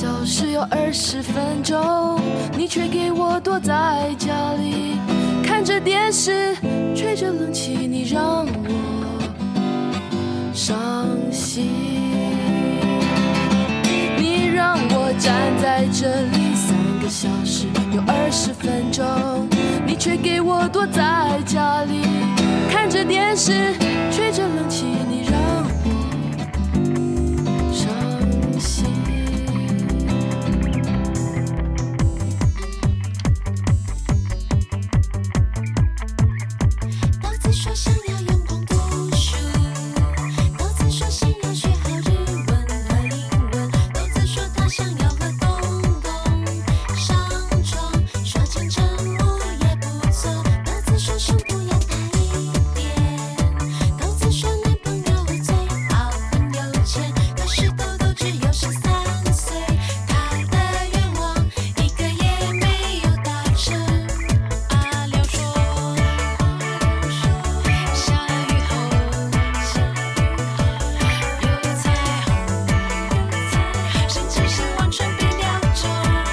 小时有20分钟，你却给我躲在家里，看着电视，吹着冷气，你让我伤心。你让我站在这里3个小时有20分钟，你却给我躲在家里，看着电视，吹着冷气，你让我伤心。 都自说想要用功读书，都自说想要学好日文和英文，都自说他想要和东东上床，说金城武也不错，都自说胸部要大一点，都自说男朋友最好很有钱，可是豆豆只有13岁，他的愿望一个也没有达成。阿廖说，下雨后有彩虹，甚至是完全被撩中。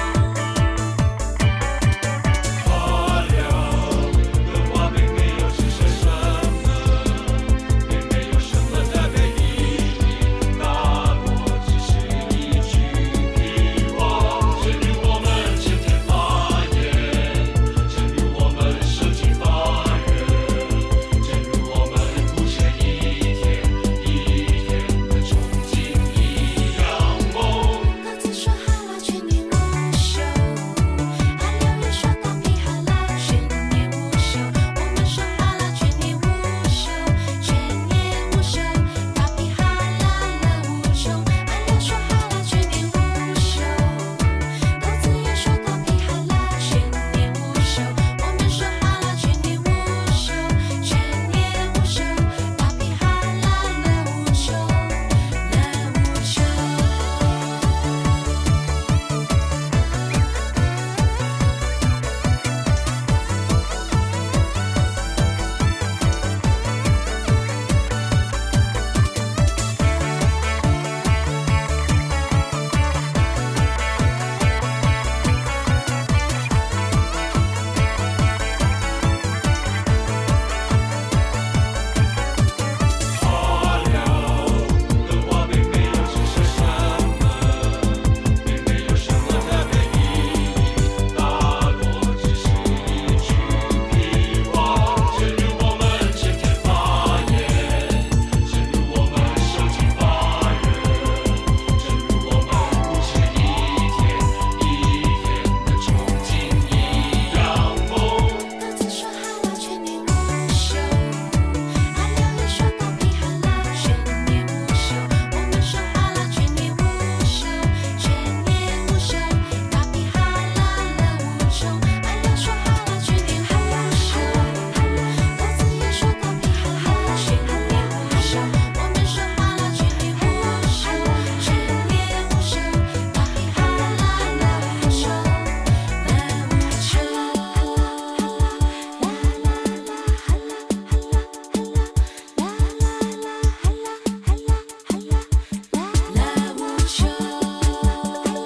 花了的话并没有只是什么，并没有什么特别意义，大多只是一句屁话。正如我们前天发言，正如我们受尽法院，正如我们不前一天一天的憧憬一样梦。 都自说哈拉全年无休，阿廖也说大屁哈拉全年无休，我们说哈拉全年无休，全年无休，大屁哈拉了无穷。阿廖说哈拉全年无休，豆子也说大屁哈拉全年无休，我们说哈拉全年无休，全年无休，大屁哈拉了无穷，了无穷。 花了的话并没有只是什么，并没有什么特别意义，大多只是一句屁话。正如我们前天发言，正如我们受尽法院，正如我们不前一天一天的憧憬一样梦。 豆子说哈拉全年无休，阿廖也说大屁哈拉全年无休，我们说哈拉全年无休，全年无休，大屁哈拉了无穷。阿廖说哈拉全年无休，豆子也说大屁哈拉全年无休，我们说哈拉全年无休，全年无休，大屁哈拉了无穷，了无穷。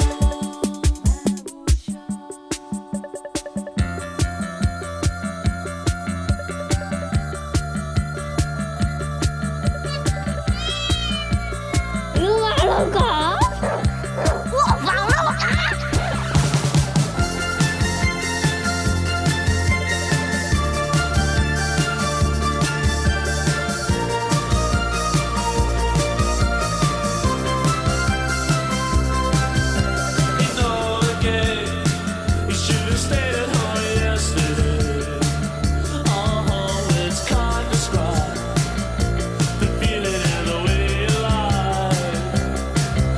撸啊撸狗，我放了我啊！ You know again, you should have stayed at home yesterday. It's can't describe the feeling and the way you lie.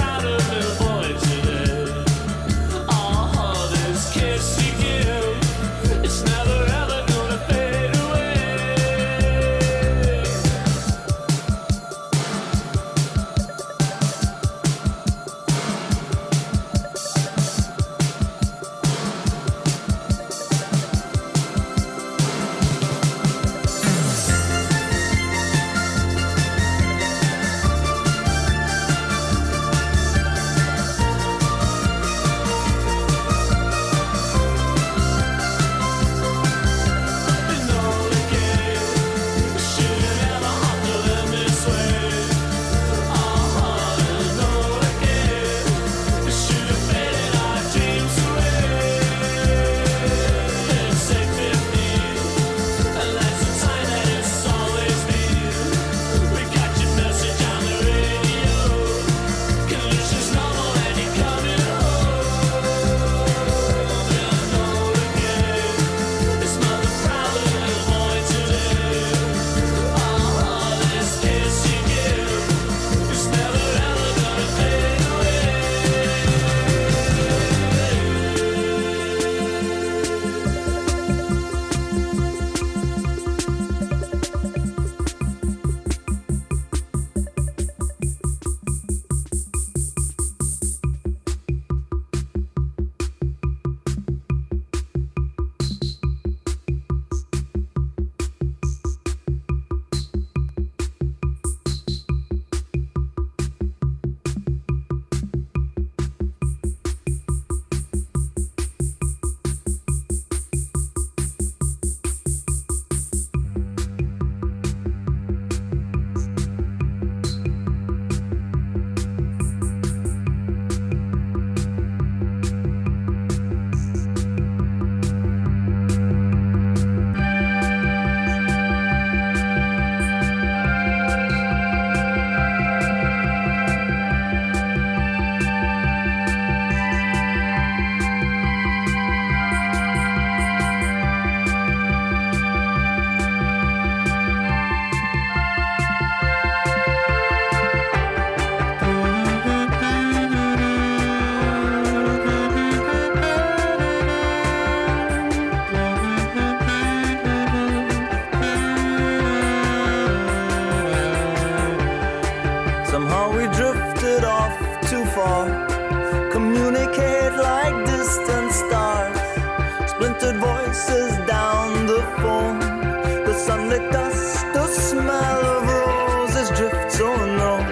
splintered voices down the phone. The sunlit dust, the smell of roses drifts on low.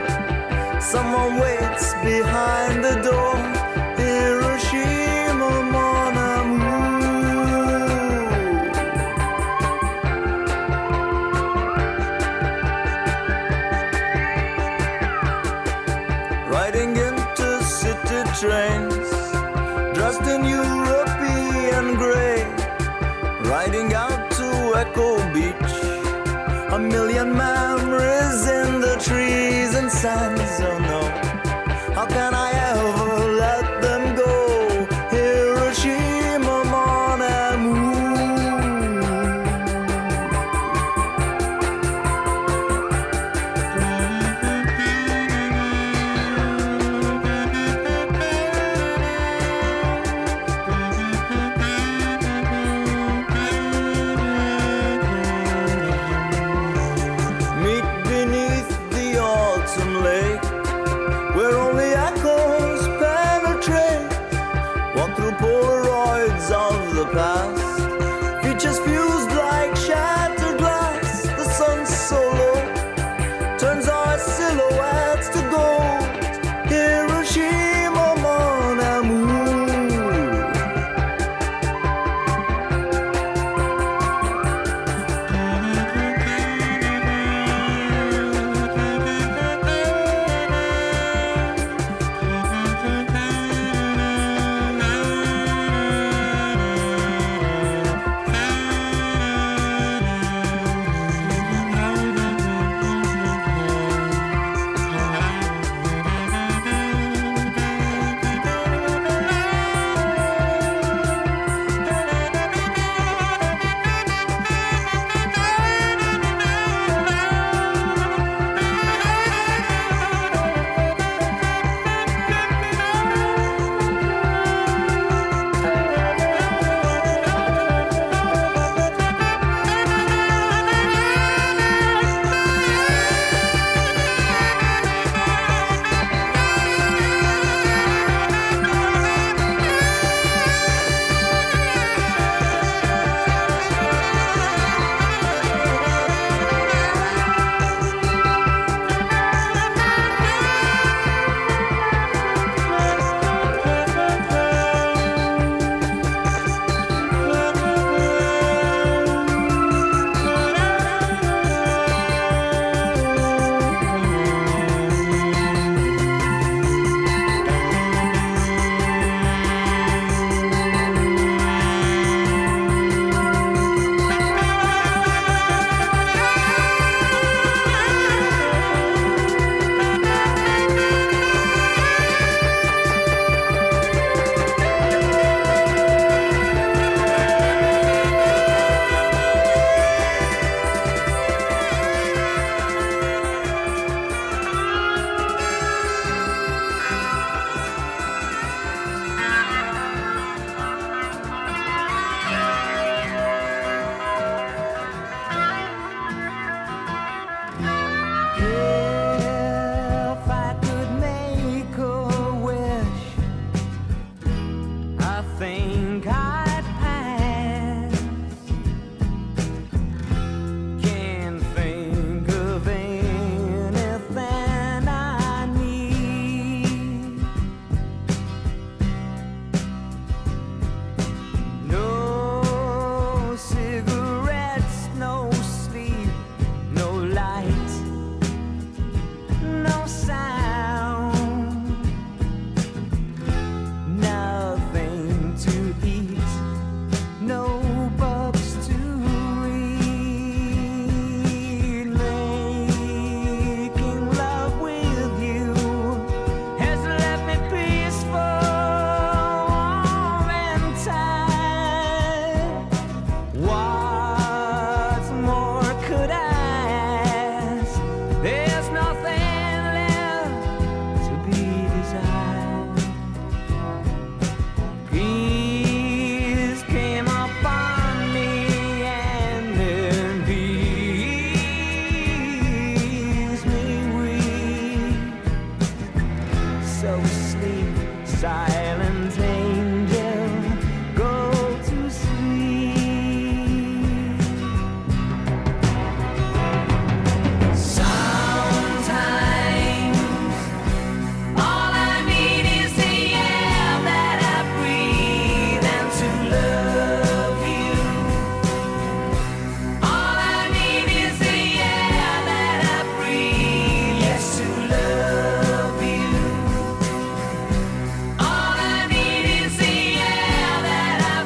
Someone waits behind the door. Hiroshima, mon amour. Riding intercity trains, dressed in European grey, riding out to Echo Beach. A million memories in the trees and sands. Oh no, how can I ever let them go? Hiroshima, mon amour. Meet beneath the autumn lake, where only echoes go sleep, silent angel, go to sleep. Sometimes all I need is the air that I breathe and to love you. All I need is the air that I breathe, yes, to love you. All I need is the air that I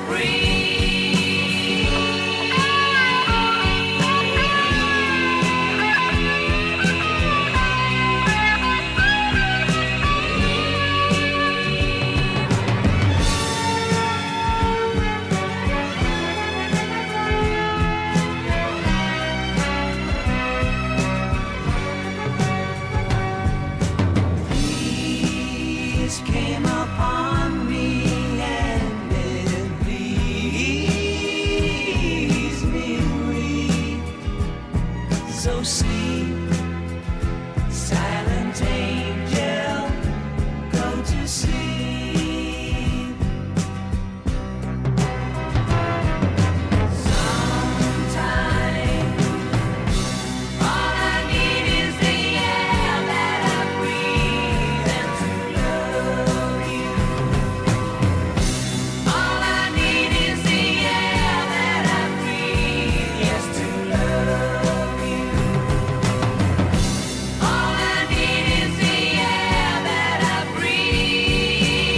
Peace came upon me and it pleased me great. So sleep, silent angel, go to sleep. Sometimes all I need is the air that I breathe and to love you. All I need is the air that I breathe, yes, to love you. All I need is the air that I breathe.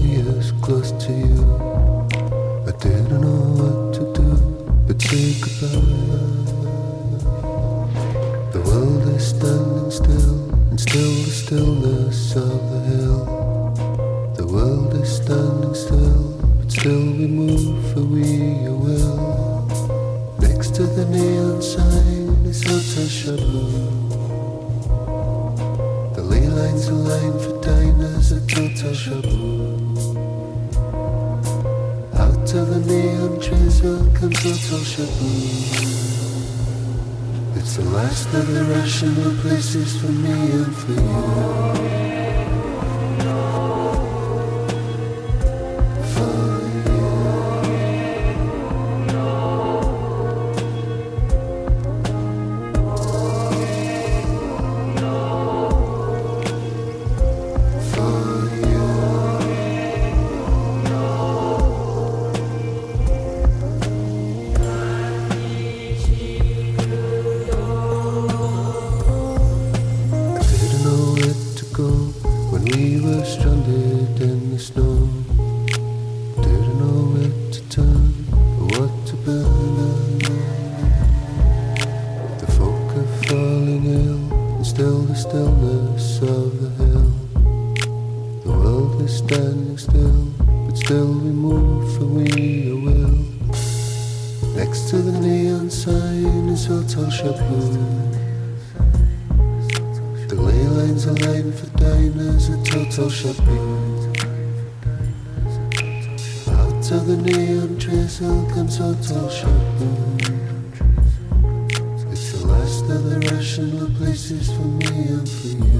be as close to you. I didn't know what to do but say goodbye. The world is standing still, and still the stillness of the hill. The world is standing still, but still we move for we will. Next to the neon sign is Hotel Chateau. The ley lines are lined for diners at Hotel Chateau. Out of the neon drizzle comes Hotel Chateau. It's the last of the rational places for me and for you. Hotel Chateau. It's the last of the rational places for me and for you.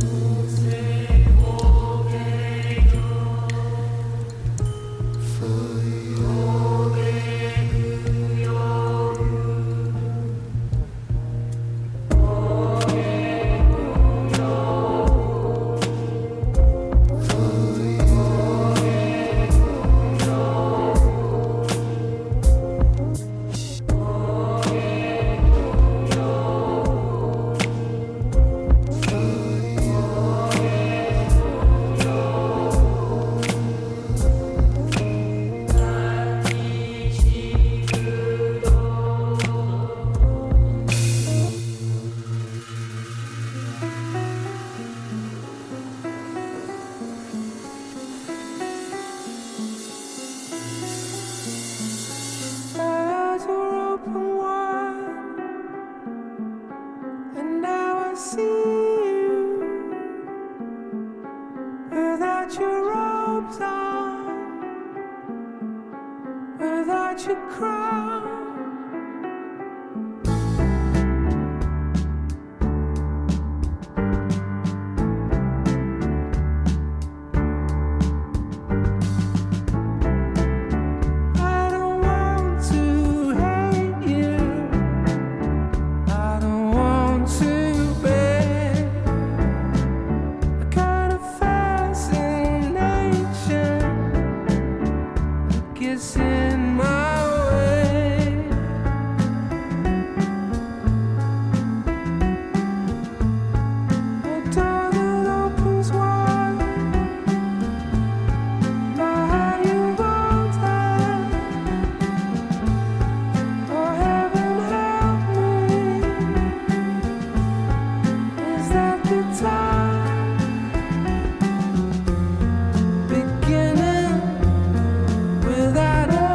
Beginning without a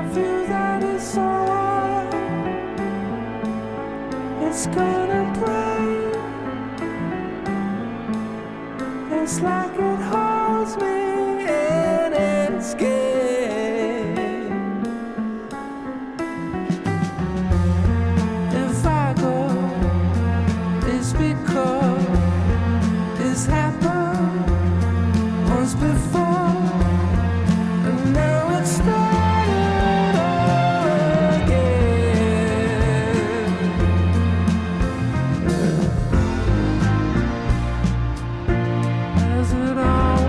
feel that it's alright. It's gonna break. It's like it holds me in its game. If I go, it's because it's happened once before, and now it's started again. As it all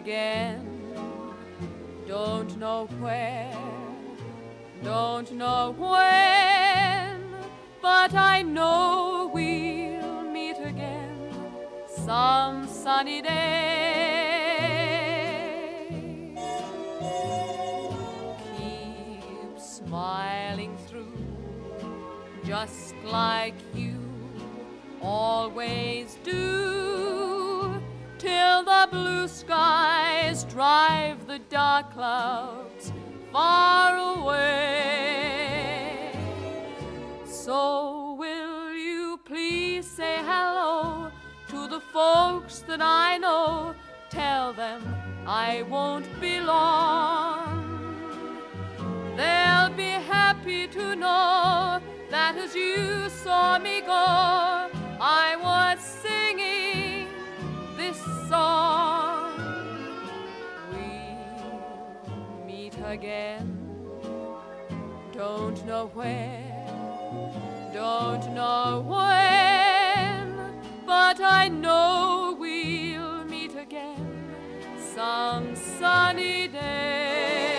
again. Don't know where, don't know when, but I know we'll meet again some sunny day. Keep smiling through, just like you always do, till the blue skies drive the dark clouds far away. So will you please say hello to the folks that I know? Tell them I won't be long. They'll be happy to know that as you saw me go, I was singing this song. We'll meet again. Don't know where, don't know when, but I know we'll meet again some sunny day.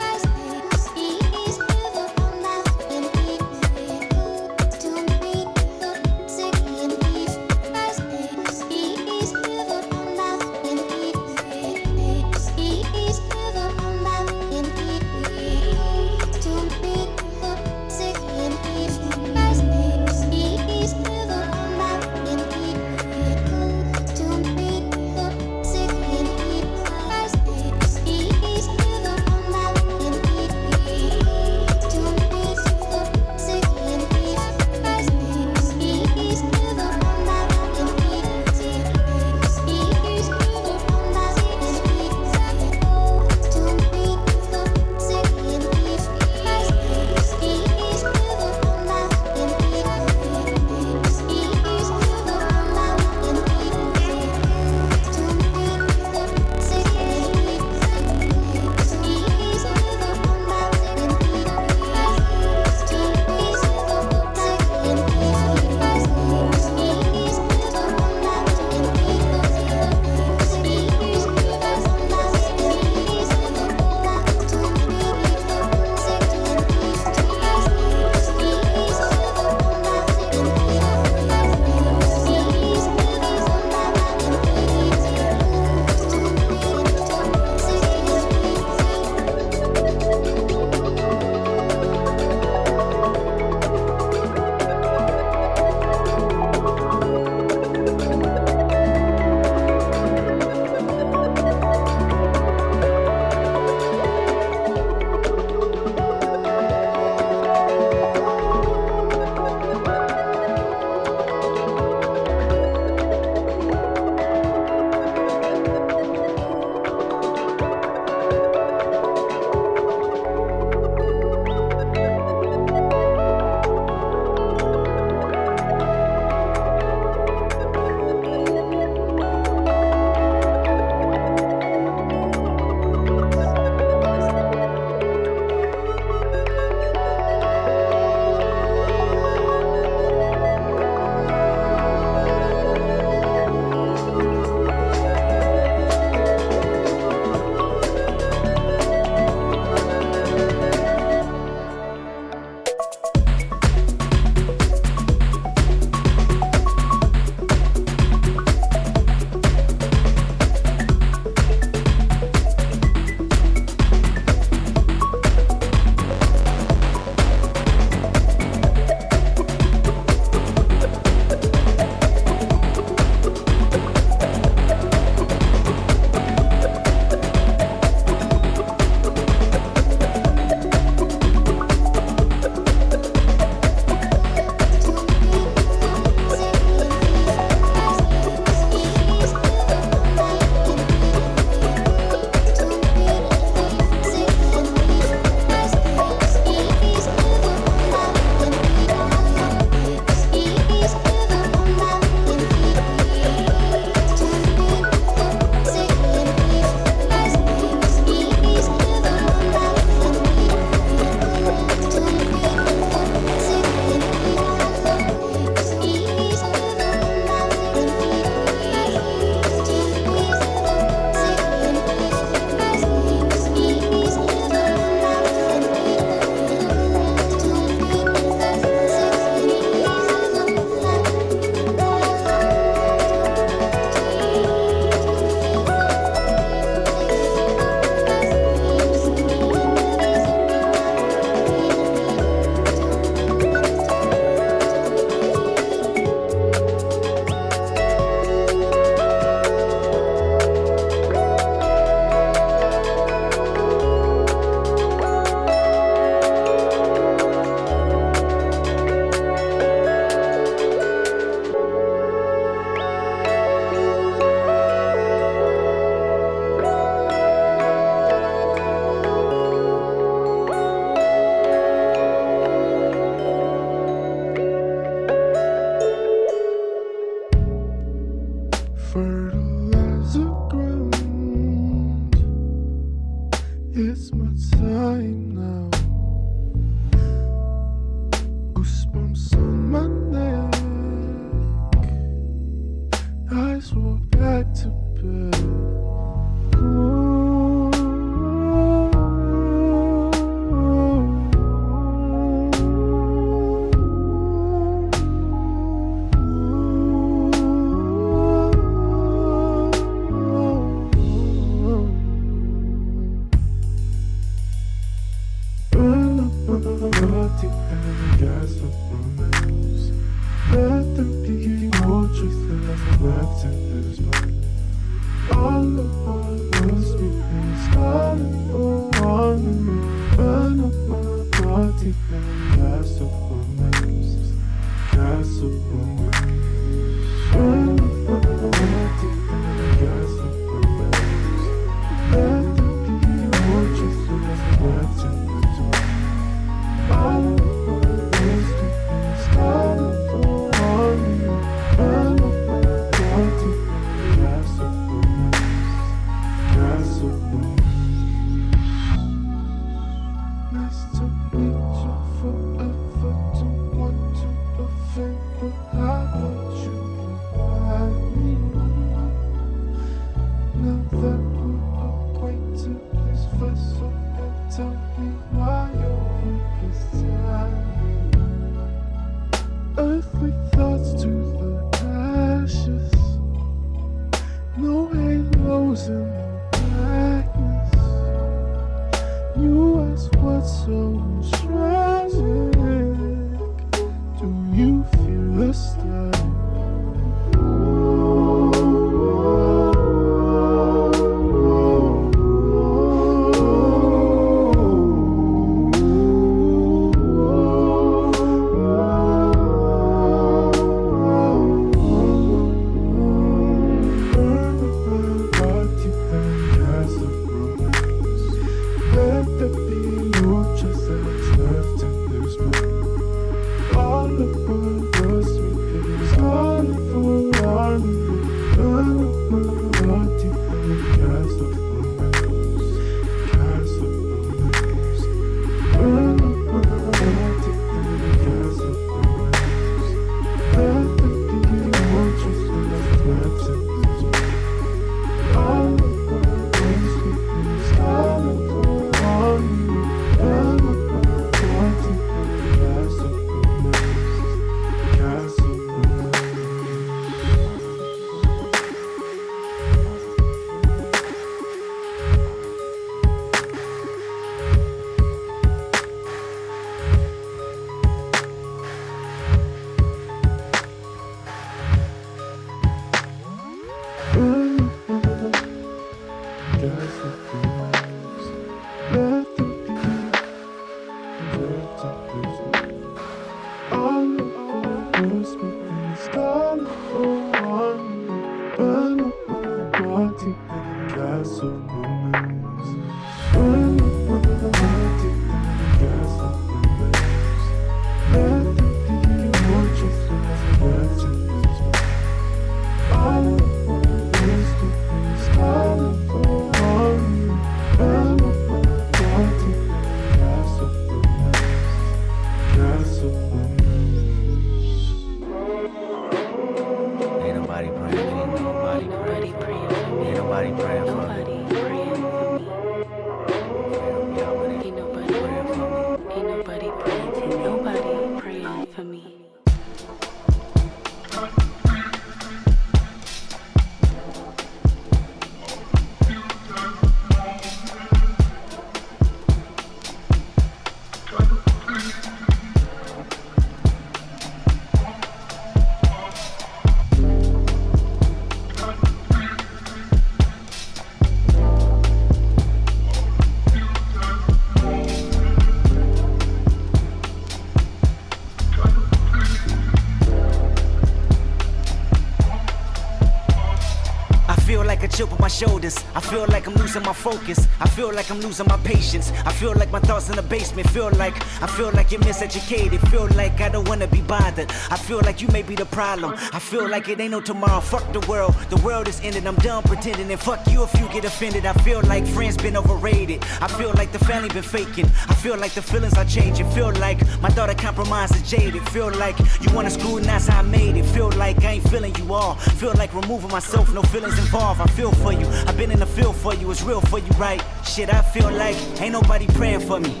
chip on my shoulders. I feel like I'm losing my focus. I feel like I'm losing my patience. I feel like my thoughts in the basement. I feel like you're miseducated. Feel like I don't wanna be bothered. I feel like you may be the problem. I feel like it ain't no tomorrow. Fuck the world. The world is ended. I'm done pretending. And fuck you if you get offended. I feel like friends been overrated. I feel like the family been faking. I feel like the feelings are changing. Feel like my daughter compromised and jaded. Feel like you wanna screw and that's how I made it. Feel like I ain't feeling you all. Feel like removing myself, no feelings involved. I feel for you. I've been in the field for you. It's real for you, right? Shit, I feel like ain't nobody praying for me.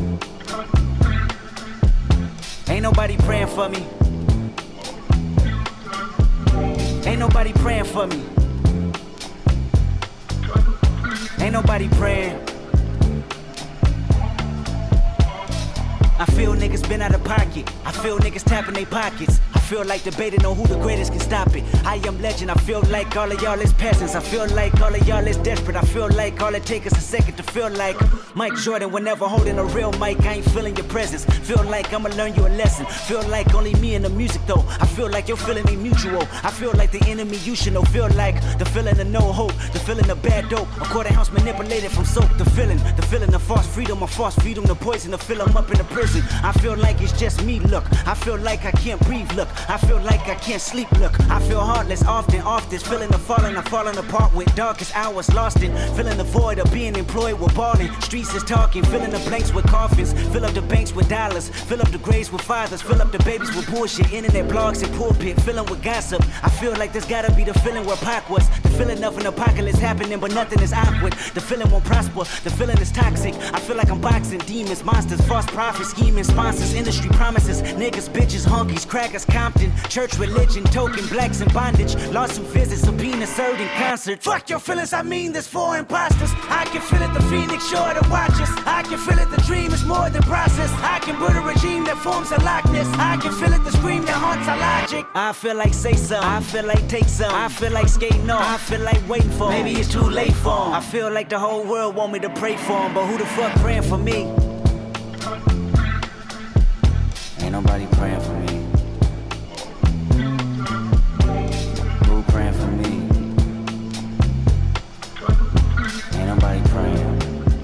Ain't nobody praying for me. Ain't nobody praying for me. Ain't nobody praying. I feel niggas been out of pocket. I feel niggas tapping their pockets. I feel like debating on who the greatest can stop it. I am legend, I feel like all of y'all is peasants. I feel like all of y'all is desperate. I feel like all it takes is a second to feel like Mike Jordan. Whenever holding a real mic, I ain't feeling your presence. Feel like I'ma learn you a lesson. Feel like only me and the music though. I feel like your feeling ain't mutual. I feel like the enemy you should know. Feel like the feeling of no hope, the feeling of bad dope. A quarter ounce manipulated from soap. The feeling of false freedom, the poison to fill them up in the prison. I feel like it's just me, look. I feel like I can't breathe, look. I feel like I can't sleep, look. I feel heartless often, off this feeling of falling apart with darkest hours lost in. Feeling the void of being employed with balling. Streets is talking, filling the blanks with coffins. Fill up the banks with dollars, fill up the graves with fathers, fill up the babies with bullshit. Internet blogs and pulpit, filling with gossip. I feel like this gotta be the feeling where Pac was. The feeling of an apocalypse happening, but nothing is awkward. The feeling won't prosper, the feeling is toxic. I feel like I'm boxing demons, monsters, false prophets, scheming sponsors, industry promises, niggas, bitches, honkies, crackers, Compton, church, religion, token, blacks in bondage, lawsuit visits, subpoena served in concert. Fuck your feelings, I mean this for imposters. I can feel it, the phoenix sure to watch us. I can feel it, the dream is more than process. I can build a regime that forms a likeness. I can feel it, the scream that haunts our logic. I feel like say some, I feel like take some, I feel like skating on, I feel like waiting for him. Maybe it's too late for him. I feel like the whole world want me to pray for him, but who the fuck praying for me? Ain't nobody praying for me. Who praying for me? Ain't nobody praying.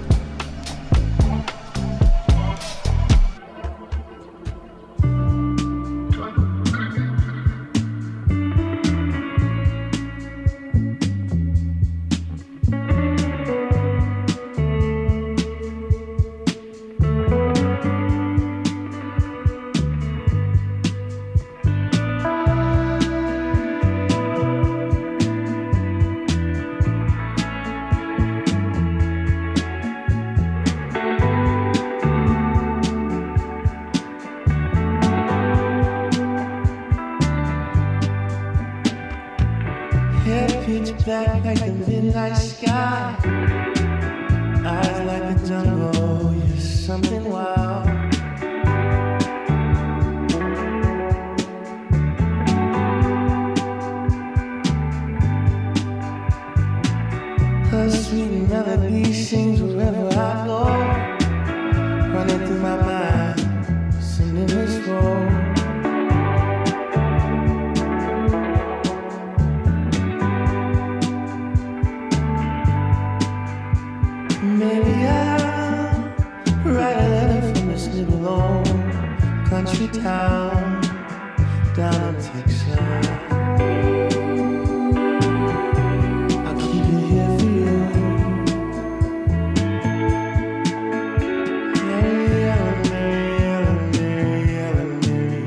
Back like the midnight sky, eyes like the jungle, you're something wild. Her sweet melody sings wherever I go, running through my mind, singing this song. Maybe I'll write a letter from this little old country town down in Texas. I'll keep it here for you. Mary Ellen, Mary Ellen, Mary Ellen,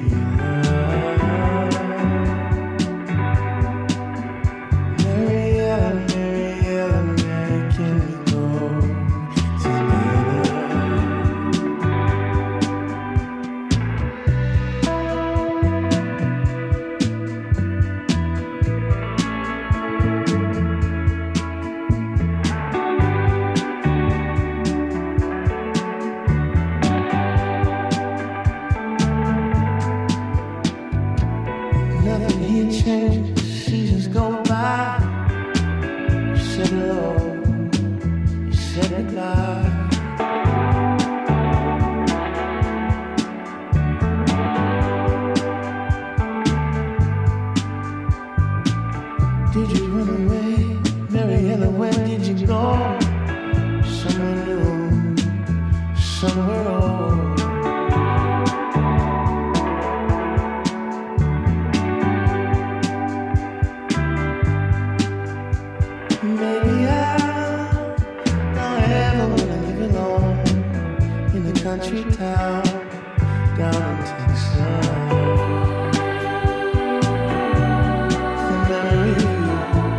Mary Ellen. Mary Ellen, Mary Ellen, Mary, can we go? Nothing here changes, seasons go by. You said hello, you said goodbye. Did you run away, Mary Ellen? Where did you go? Somewhere new, somewhere old. Maybe I don't ever wanna live alone in a country town down in Texas. The memory of you.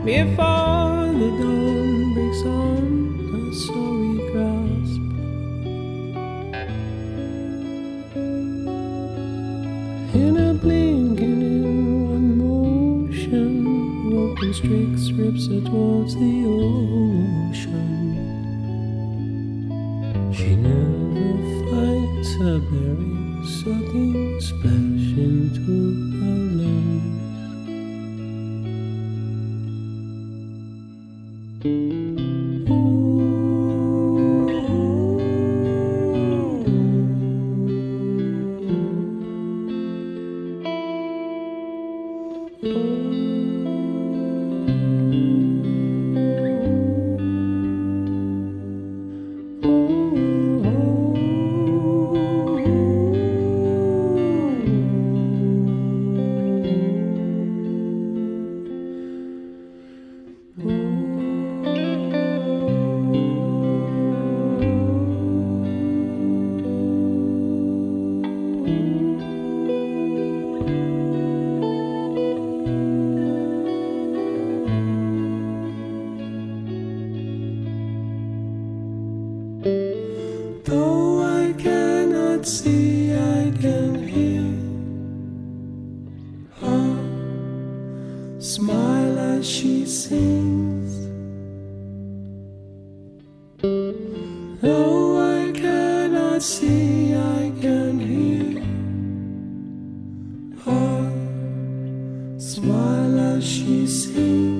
before the dawn breaks on us, so we grasp. In a blink and in one motion, rope and Strix rips her towards the ocean. She never finds her bearings, sucking splash into her lungs. Though I cannot see, I can hear her smile as she sings. Though I cannot see, I can hear her smile as she sings.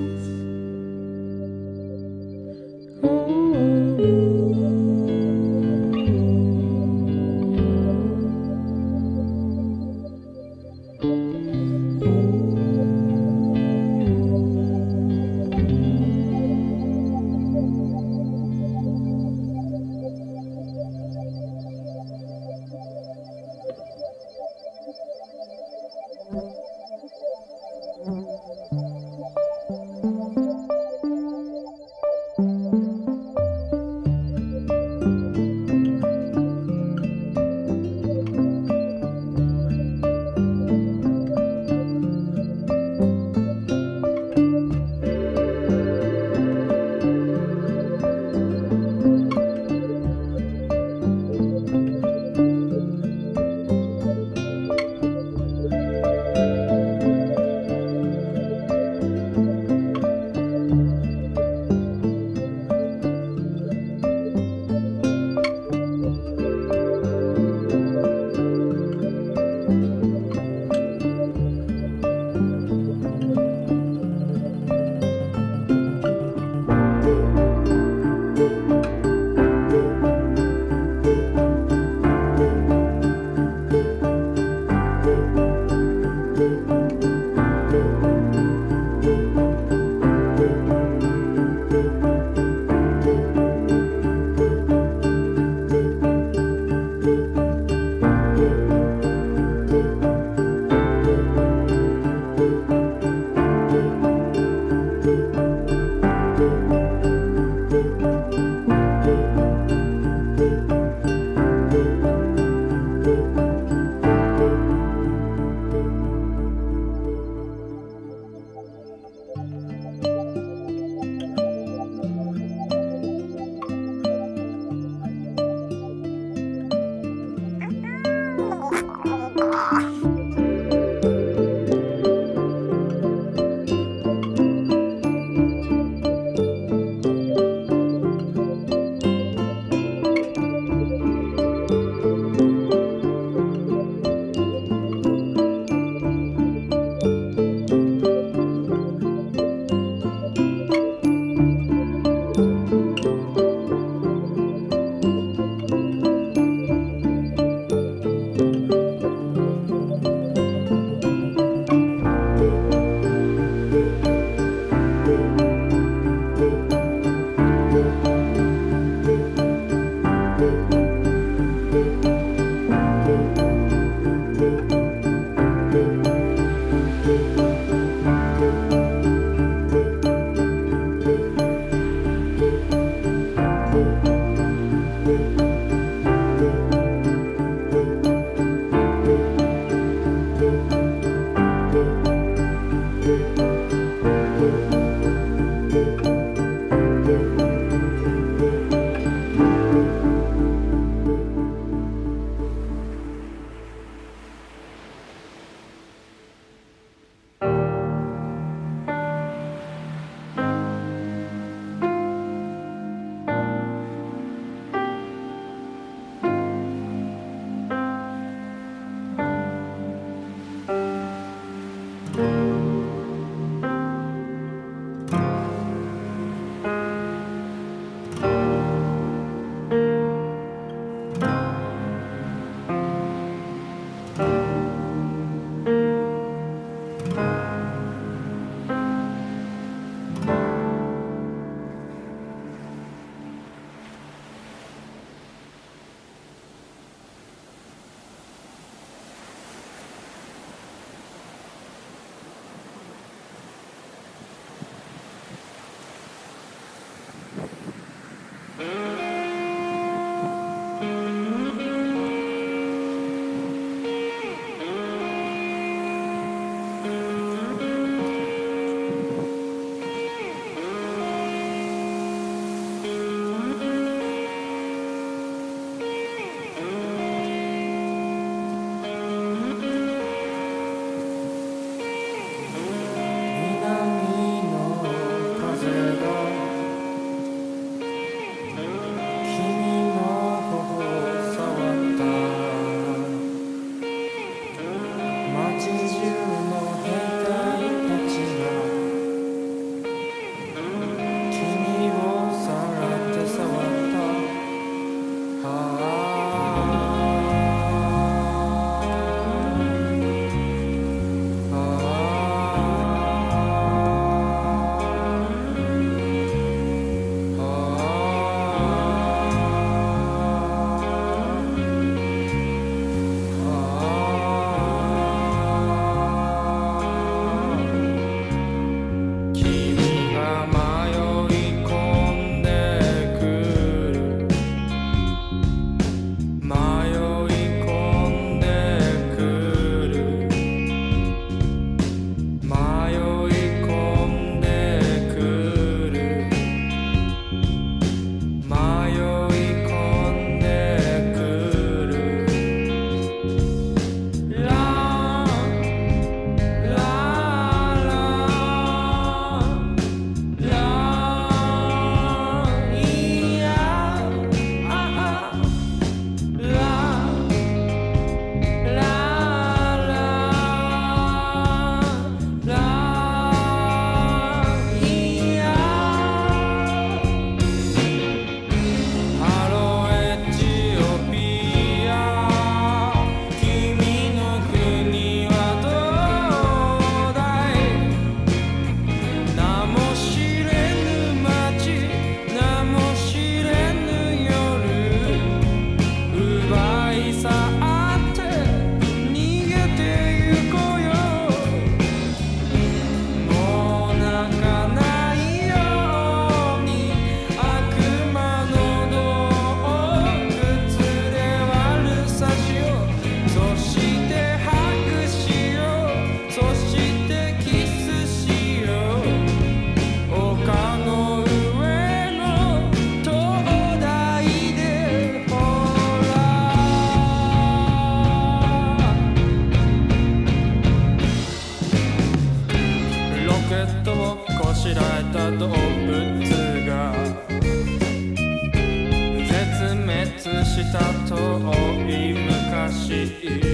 滅した遠い昔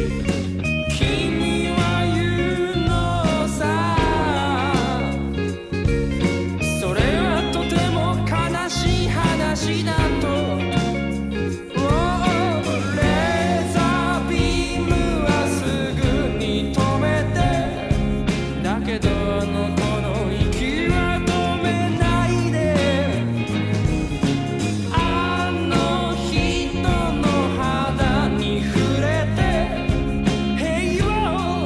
君は言うのさそれはとても悲しい話だとレーザービームはすぐに止めてだけどあの子の息は止めないであの人の肌に触れて平和を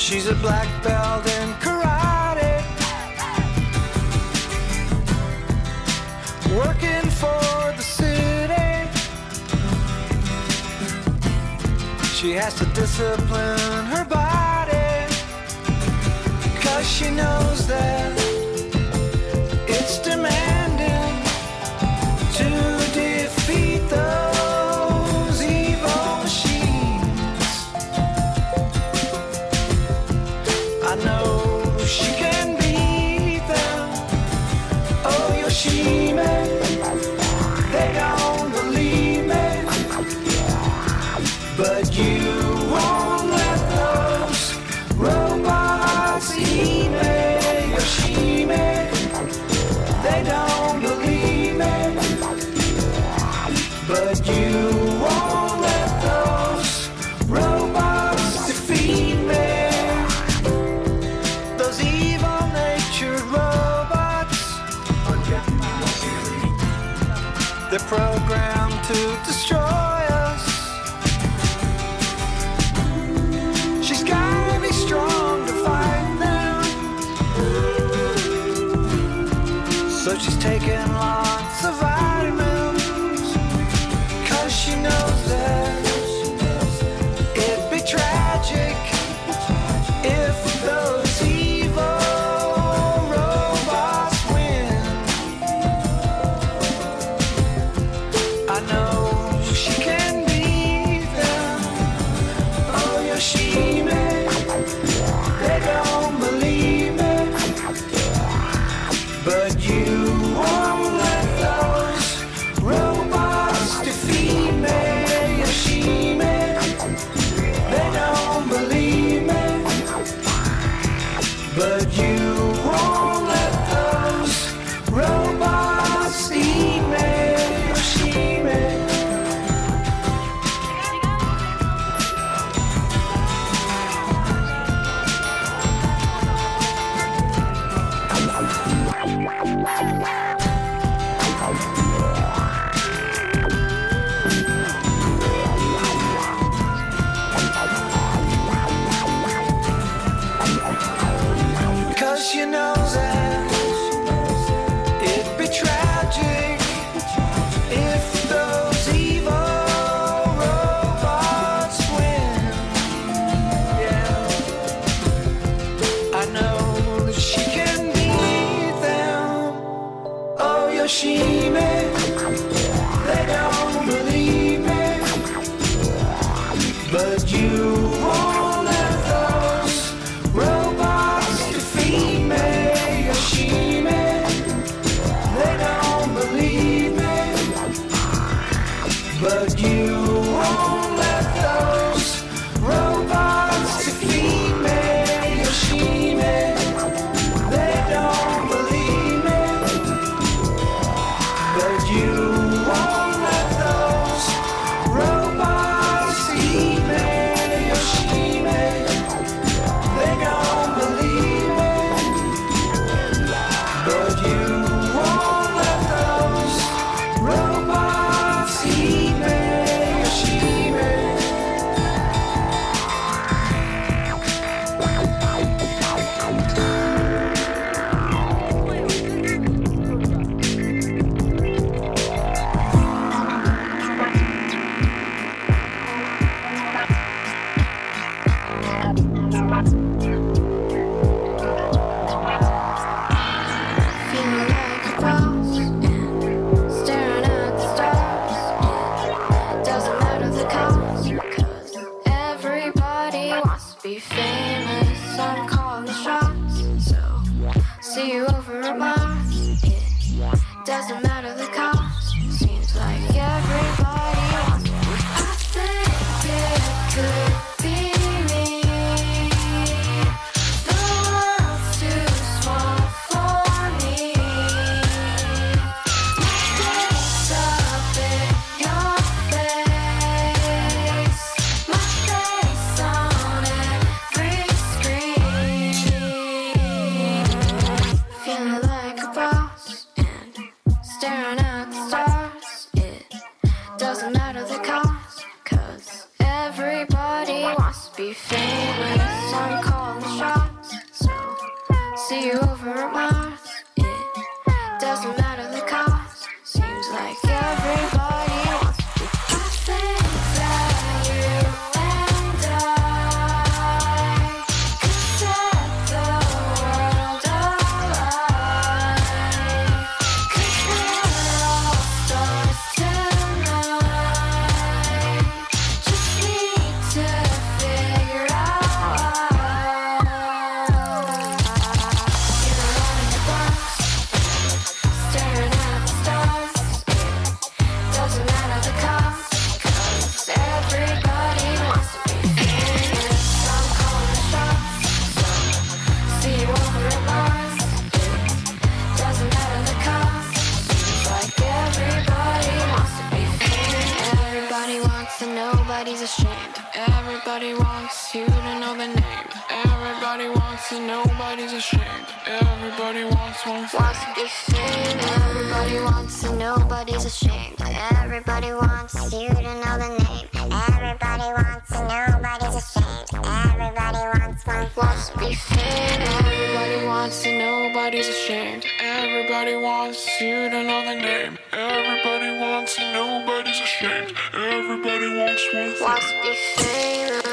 She's a black belt in karate, working for the city. She has to discipline her body, 'cause she knows that it's demanding to defeat those evil machines. I know she can beat them. Oh, Yoshime, they don't believe me, but you won't let those robots eat me. Yoshime, they don't believe me, but you won't let those robots defeat me. Those evil-natured robots, they're programmed to destroy us. She's gotta be strong to fight them, so she's taking lots of vitamins, 'cause she knows that it'd be tragic if those evil robots win. I know she can beat them. Oh, Yoshime, they don't believe me, but you won't let those robots defeat me. Yoshime, they don't believe me, but you won't let those robots eat me. Yoshime. Cause you know that it'd be tragic if those evil robots win. Yeah, I know that she can beat them. Oh, Yoshime, they don't believe me, but you won't let those robots defeat me. Yoshime, they don't believe me, but you won't let those robots defeat me. Yoshime, they don't believe me, but you won't let those robots eat me. Yoshime, they don't believe me, but you won't let those robots eat me. Yoshime. Feeling like a boss and staring at the stars. It doesn't matter the cost, 'cause everybody wants to be famous. I'm calling the shots, so see you over at Mars. It doesn't matter the cost. Seems like everybody wants to. I think it could be me. Wants to be famous, I'm calling shots. So, see you over at Mars. It doesn't matter the cost. Seems like everybody wants to be. I think that you and I could set the world alight. Could pair all stars tonight. Just need to figure out. You're running the box, staring at the stars. It doesn't matter the cost, 'cause everybody wants to be famous. I'm calling the shots, so see you over at Mars. It doesn't matter the cost, seems like everybody wants to be famous. Everybody wants and nobody's ashamed. Everybody wants you to know the name. Everybody wants and nobody's ashamed. Everybody wants to be famous. Everybody wants and nobody's ashamed. Everybody wants you to know the name. Everybody wants and nobody's ashamed. Everybody wants to be famous. Everybody wants and nobody's ashamed. Everybody wants you to know the name. Everybody wants and nobody's ashamed. Everybody wants to be famous.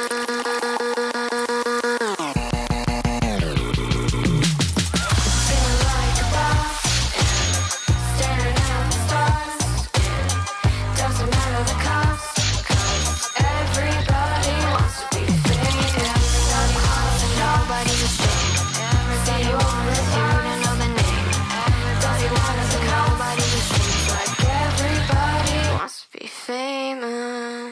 Feeling like a boss, staring at the stars. Doesn't matter the cost, 'cause everybody wants to be famous. Everybody wants and nobody's ashamed. Everybody wants you to know the name. Everybody wants and nobody's ashamed. Like everybody wants to be famous.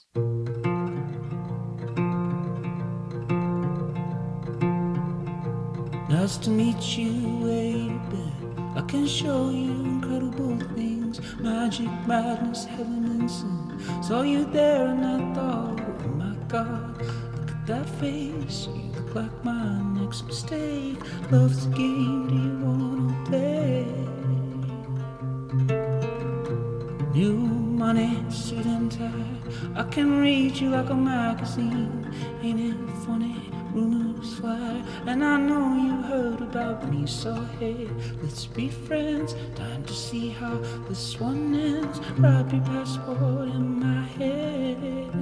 Nice to meet you, baby. I can show you incredible things. Magic, madness, heaven and sin. Saw you there and I thought, oh my God, look at that face. You look like my next mistake. Love's the game, do you wanna play? New money, suit and tie. I can read you like a magazine. Ain't it funny? Rumors fly, and I know you heard about me, so hey, let's be friends. Time to see how this one ends. Wrap your passport in my head.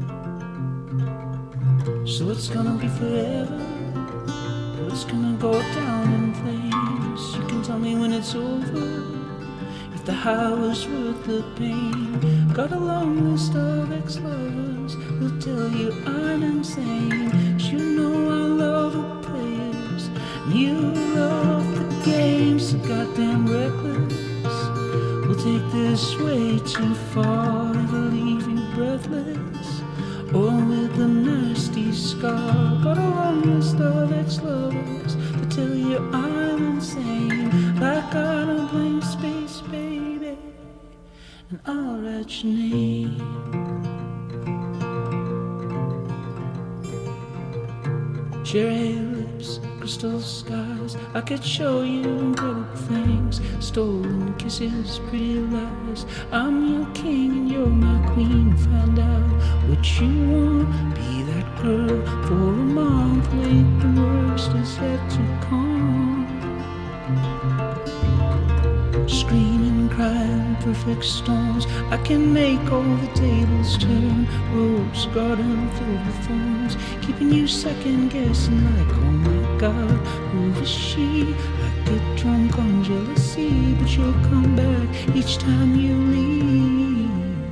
So it's gonna be forever, or it's gonna go down in flames. You can tell me when it's over, if the high was worth the pain. Got a long list of ex-lovers who'll tell you I'm insane. 'Cause you know I love the players, and you love the game. So goddamn reckless, we'll take this way too far. It'll leave you breathless, or with a nasty scar. Got a long list of ex-lovers to tell you I'm insane. Like on a blank space, baby, and I'll write your name. Cherry lips, crystal skies. I could show you incredible things. Stolen kisses, pretty lies. I'm your king and you're my queen. Find out what you want. Be that girl for a month. Wait, the worst is yet to come. Screaming, crying, perfect storms. I can make all the tables turn. Rose garden filled with thorns, keeping you second guessing like, oh my God, who is she? I get drunk on jealousy, but you'll come back each time you leave.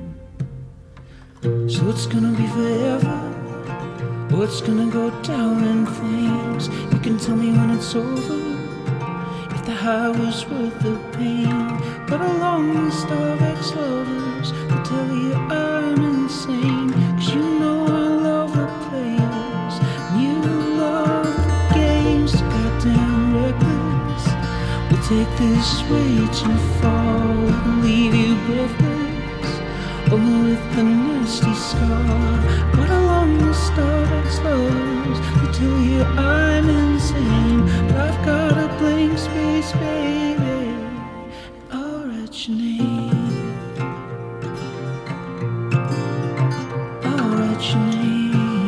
So it's gonna be forever, or it's gonna go down in flames. You can tell me when it's over, the high was worth the pain. Got a long list of ex-lovers to tell you I'm insane. 'Cause you know I love the players, and you love the games. So goddamn reckless, we'll take this way too far. We'll leave you breathless, or with a nasty scar. Got a long list of ex-lovers to tell you I'm insane. But I've got a blank space, baby, and I'll write your name. I'll write your name.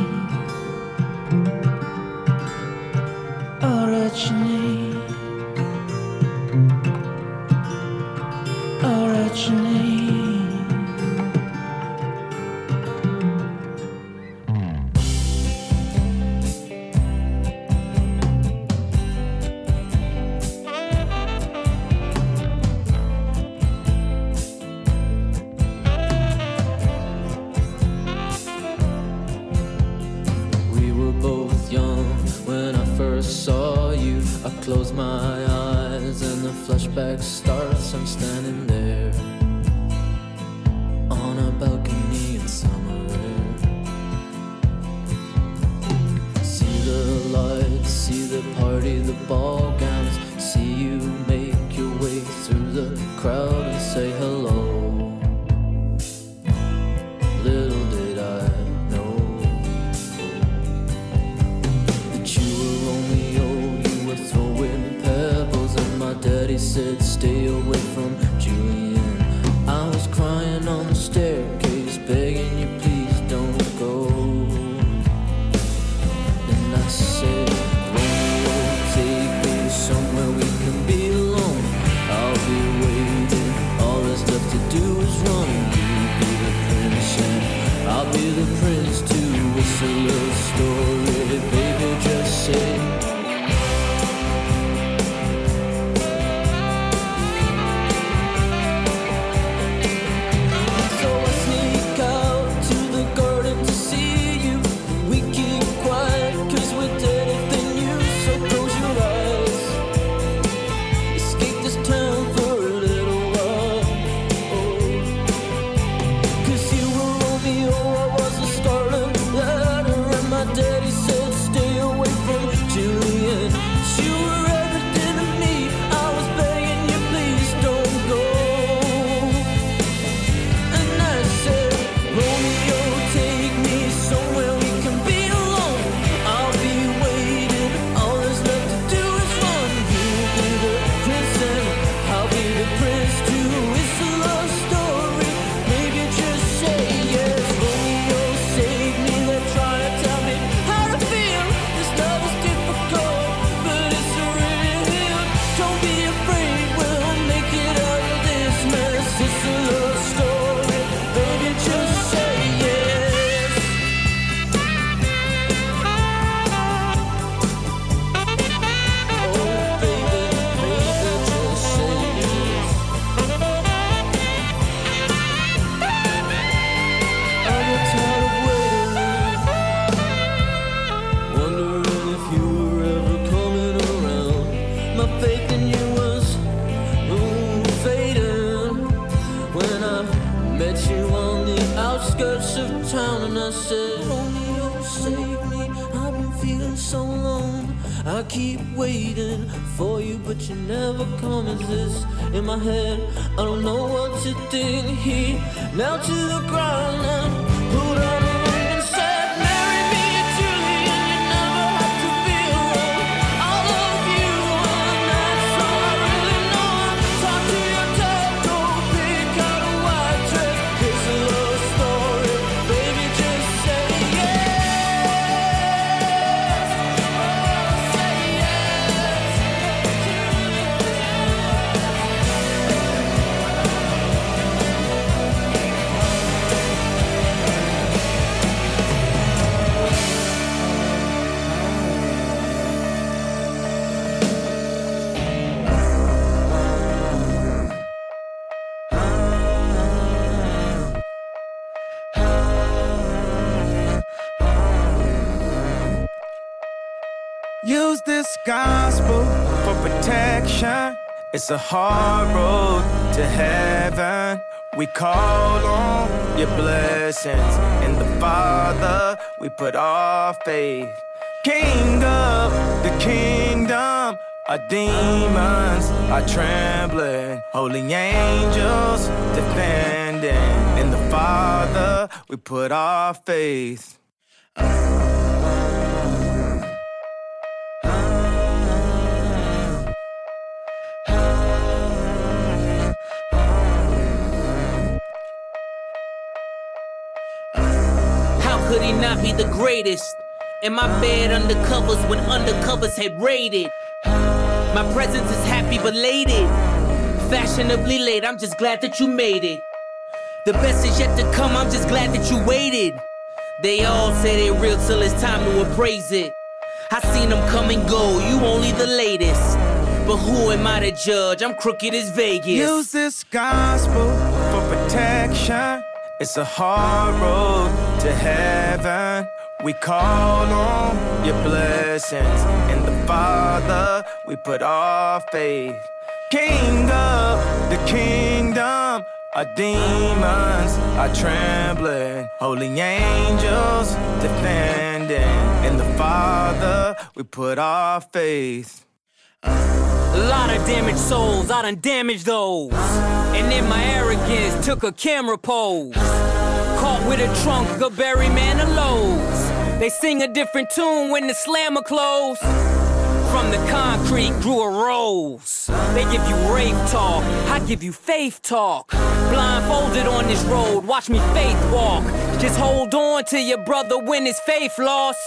We were both young when I first saw you. I close my eyes and the flashback starts. I'm standing there on a balcony in summer air. See the lights, see the party, the ball gowns. See you make your way through the crowd and say hello. Little did I know that you were Romeo, you were throwing pebbles, and my daddy said stay away from Julian. I was crying on the staircase, begging you please don't go. And I said, Romeo, take me somewhere we can be alone. I'll be waiting, all there's left to do is run. I'll be the prince to whistle a story, baby, just say. So I sneak out to the garden to see you. We keep quiet cause we're dead if they knew. So close your eyes, escape this town for a little while. Cause you were Romeo, I was a scarlet letter, and my daddy said stay away from Julian. You were everything to me, I was begging you please don't go. And I said, Romeo, take me somewhere we can be alone. I'll be waiting, all there's left to do is run. You'll be the prince and I'll be the prince too. It's a love story, maybe just say yes. Romeo, save me, they're trying to tell me how to feel. This love is difficult, but it's real. Don't be afraid, we'll make it out of this mess. It's a love story, baby, just say yes. Oh, baby, baby, just say yes. I'm tired of waiting, wondering if you were ever coming around. My faith in you was fading when I met you on the outskirts of town, and I said, Romeo, save me, I've been feeling so alone. I keep waiting for you, but you never come. Is this in my head? I don't know what to think. He knelt to the ground and put on a ring and said, marry me, Julian, you never have to feel wrong. I love you, and that's all I really know. Talk to your dad, go pick out a white dress. It's a love story, baby, just say yes. Oh, say yes. Use this gospel for protection. It's a hard road to heaven. We call on your blessings. In the Father, we put our faith. King of the kingdom, our demons are trembling. Holy angels defending. In the Father, we put our faith. Could he not be the greatest? In my bed undercovers when undercovers had raided. My presence is happy belated. Fashionably late, I'm just glad that you made it. The best is yet to come, I'm just glad that you waited. They all say they real till it's time to appraise it. I seen them come and go, you only the latest. But who am I to judge? I'm crooked as Vegas. Use this gospel for protection. It's a hard road to heaven. we call on your blessings. In the Father, we put our faith. King of the kingdom, our demons are trembling. Holy angels defending. In the Father, we put our faith. A lot of damaged souls, I done damaged those. And in my arrogance, took a camera pose. Caught with a trunk of Barry Manilow's. They sing a different tune when the slammer close. From the concrete grew a rose. They give you rave talk, I give you faith talk. Blindfolded on this road, watch me faith walk. Just hold on to your brother when his faith lost.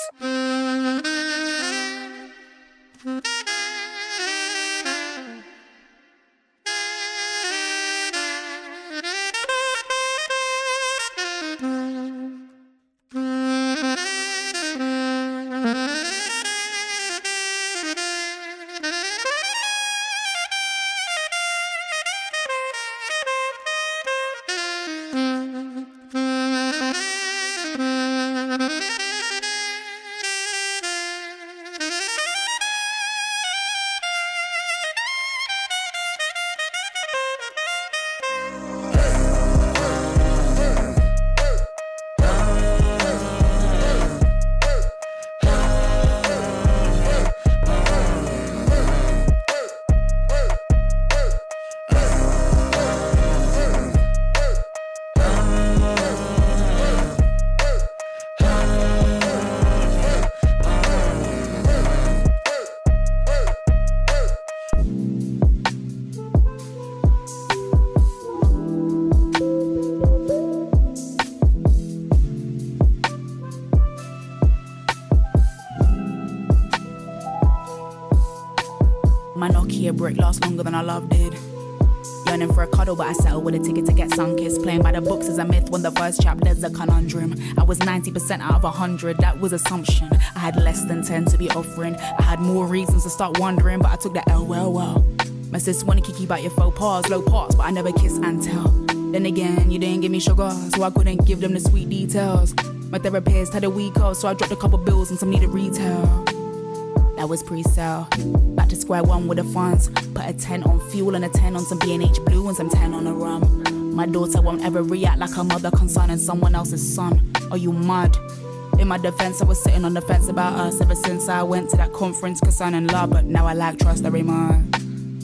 My Nokia brick lasts longer than our love did. Yearning for a cuddle, but I settled with a ticket to get sun-kissed. Playing by the books is a myth when the first chapter's a conundrum. I was 90% out of 100, that was assumption. I had less than 10 to be offering. I had more reasons to start wondering, but I took the L well. My sis wanna kick you about your faux pas, low parts, but I never kiss and tell. Then again, you didn't give me sugar, so I couldn't give them the sweet details. My therapist had a week off, so I dropped a couple bills and some needed retail. That was pre-sale. Back to square one with the funds. Put a 10 on fuel and a 10 on some B&H Blue and some 10 on a rum. My daughter won't ever react like her mother concerning someone else's son. Are you mad? In my defense, I was sitting on the fence about us ever since I went to that conference concerning love, but now I lack trust every month.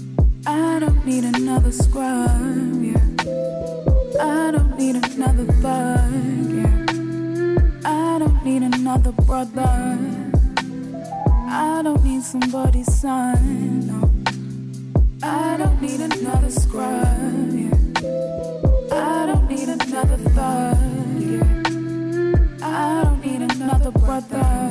I don't need another scrub, yeah. I don't need another thug, yeah. I don't need another brother. I don't need somebody's son, no. I don't need another scrub, yeah. I don't need another thug, yeah. I don't need another brother.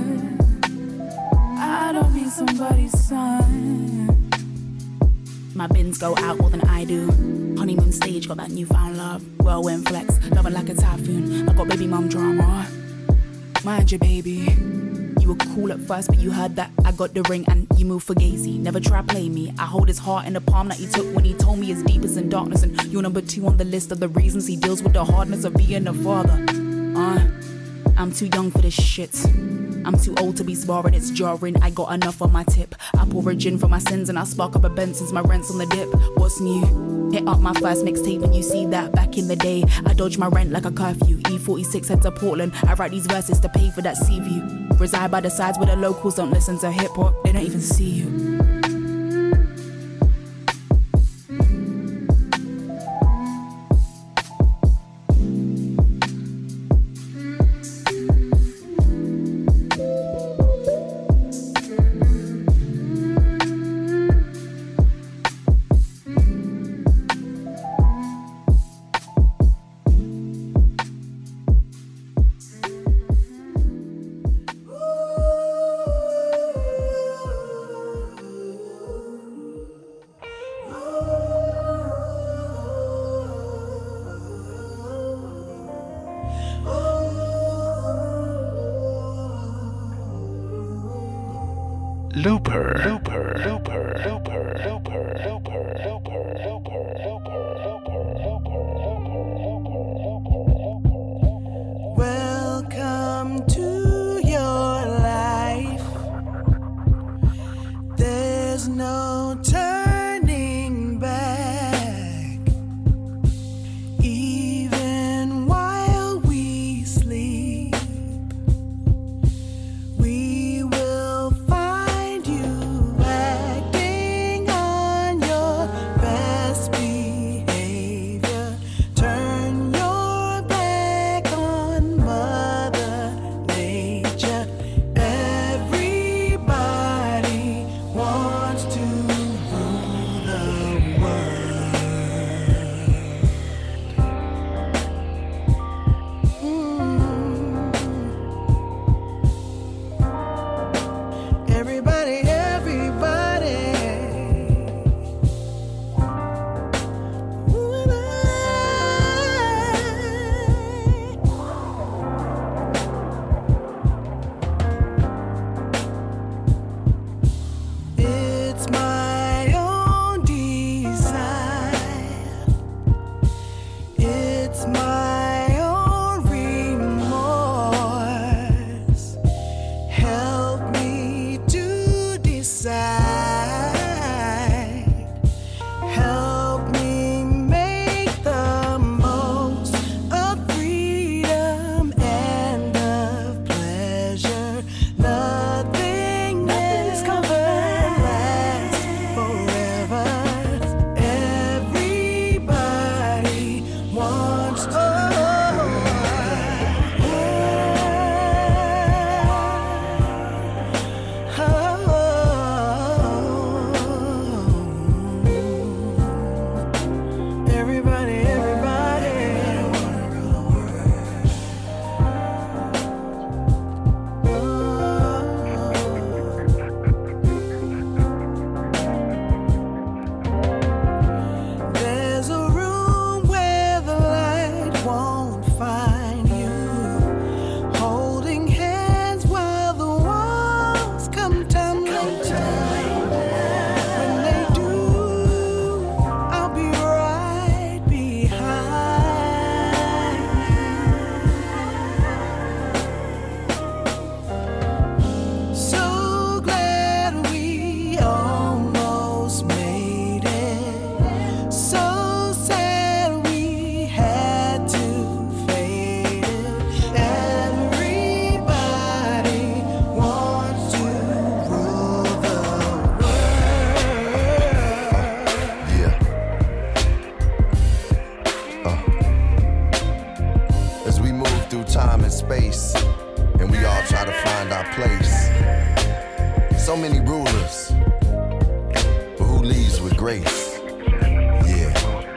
I don't need somebody's son. My bins go out more than I do. Honeymoon stage, got that newfound love. Whirlwind flex, loving like a typhoon. I got baby mum drama. Mind your baby. You were cool at first, but you heard that I got the ring and you moved for Gazy. Never try play me. I hold his heart in the palm that he took when he told me his deepest in darkness. And you're number 2 on the list of the reasons he deals with the hardness of being a father. I'm too young for this shit. I'm too old to be sparring, it's jarring. I got enough on my tip. I pour a gin for my sins and I spark up a Benz since my rent's on the dip. What's new? Hit up my first mixtape and you see that back in the day. I dodge my rent like a curfew. E46 head to Portland. I write these verses to pay for that sea view. Reside by the sides where the locals don't listen to hip hop. They don't even see you. Welcome to So many rulers, but who leads with grace? Yeah.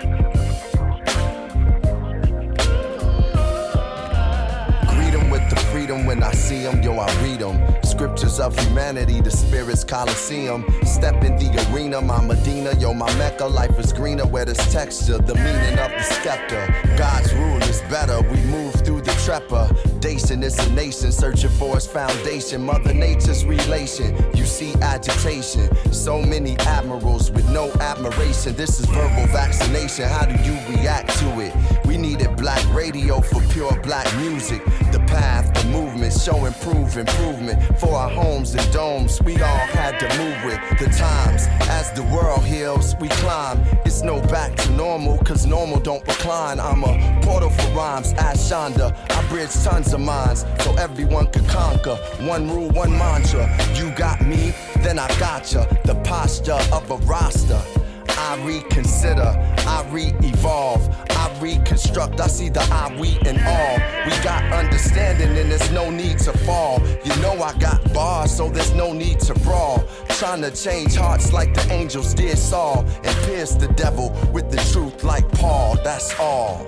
Greet 'em with the freedom when I see 'em, yo, I read 'em. Scriptures of humanity, the spirit's coliseum. Step in the arena, my Medina, yo, my Mecca. Life is greener where there's texture, the meaning of the scepter. God's rule is better, we move through the trepidation. It's a nation searching for its foundation. Mother Nature's relation, you see agitation. So many admirals with no admiration. This is verbal vaccination, how do you react to it? We needed black radio for pure black music. The path, the movement, show improvement. For our homes and domes, we all had to move with the times. As the world heals, we climb. It's no back to normal, cause normal don't recline. I'm a portal for rhymes, ask Shonda. I bridge tons of minds, so everyone could conquer. One rule, one mantra. You got me, then I gotcha. The posture of a roster. I reconsider, I re-evolve, I reconstruct. I see the I, we, and all. We got understanding and there's no need to fall. You know I got bars, so there's no need to brawl. Trying to change hearts like the angels did Saul, and pierce the devil with the truth like Paul. That's all.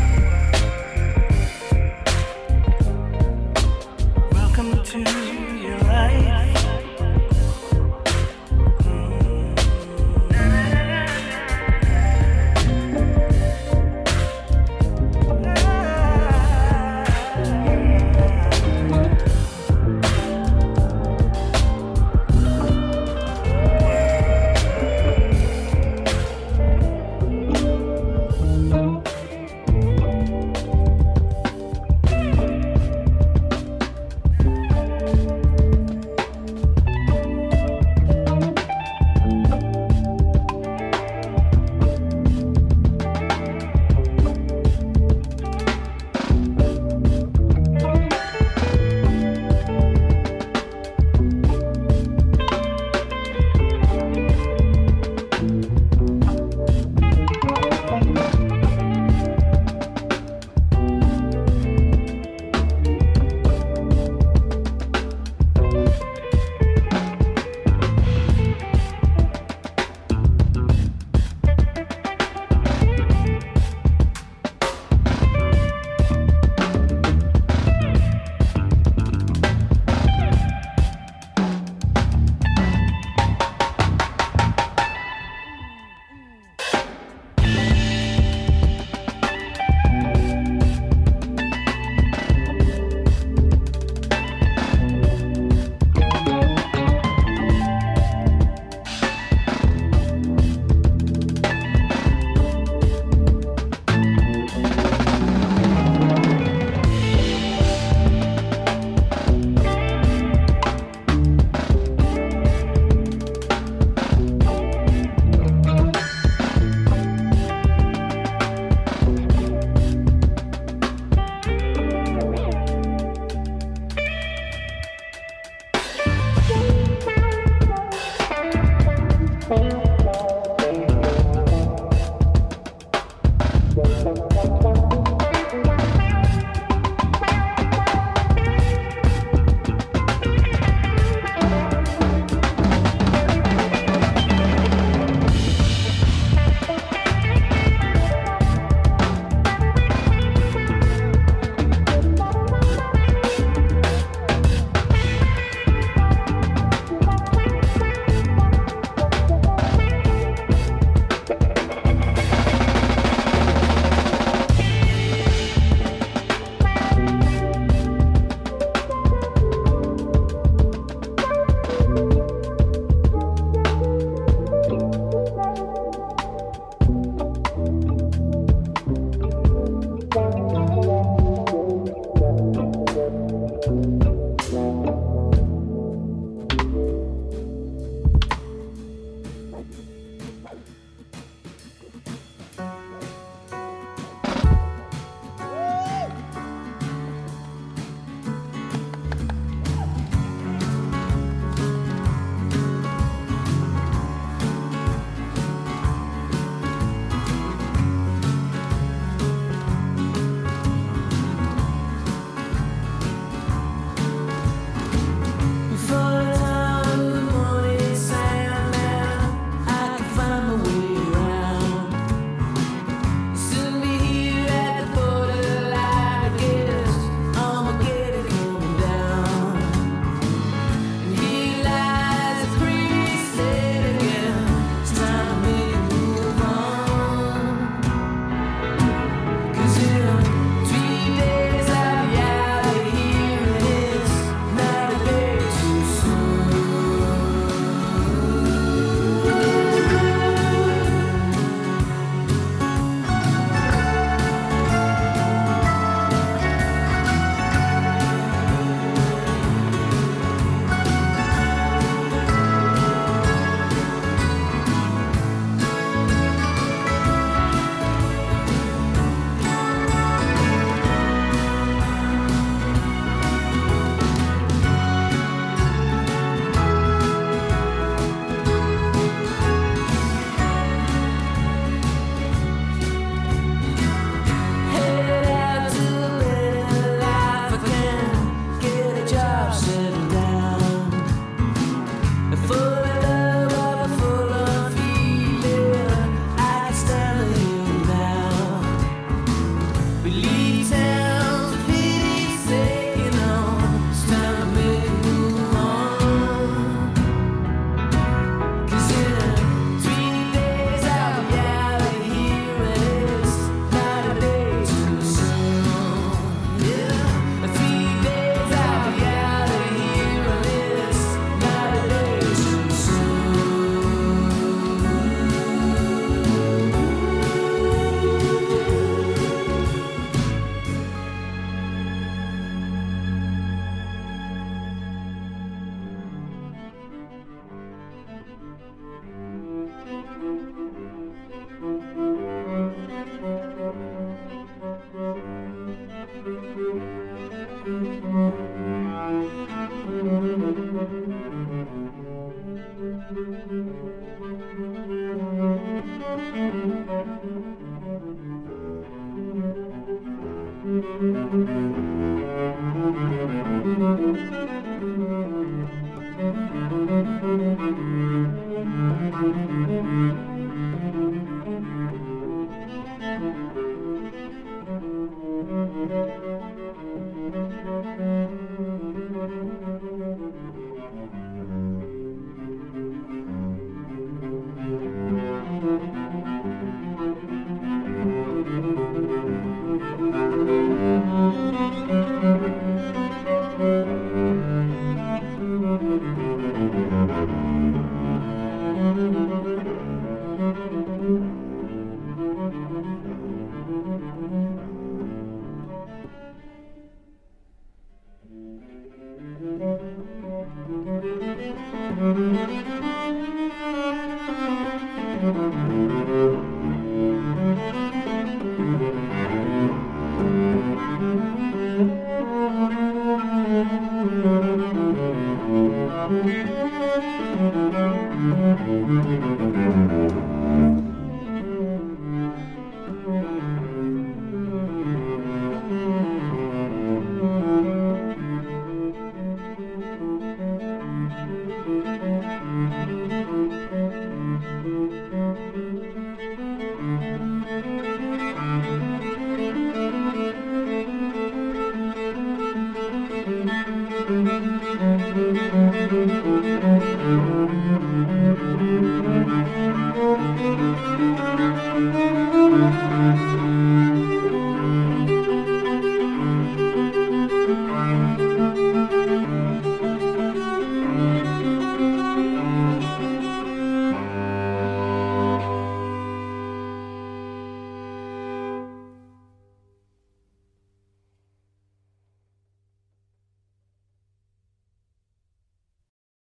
Welcome to your life.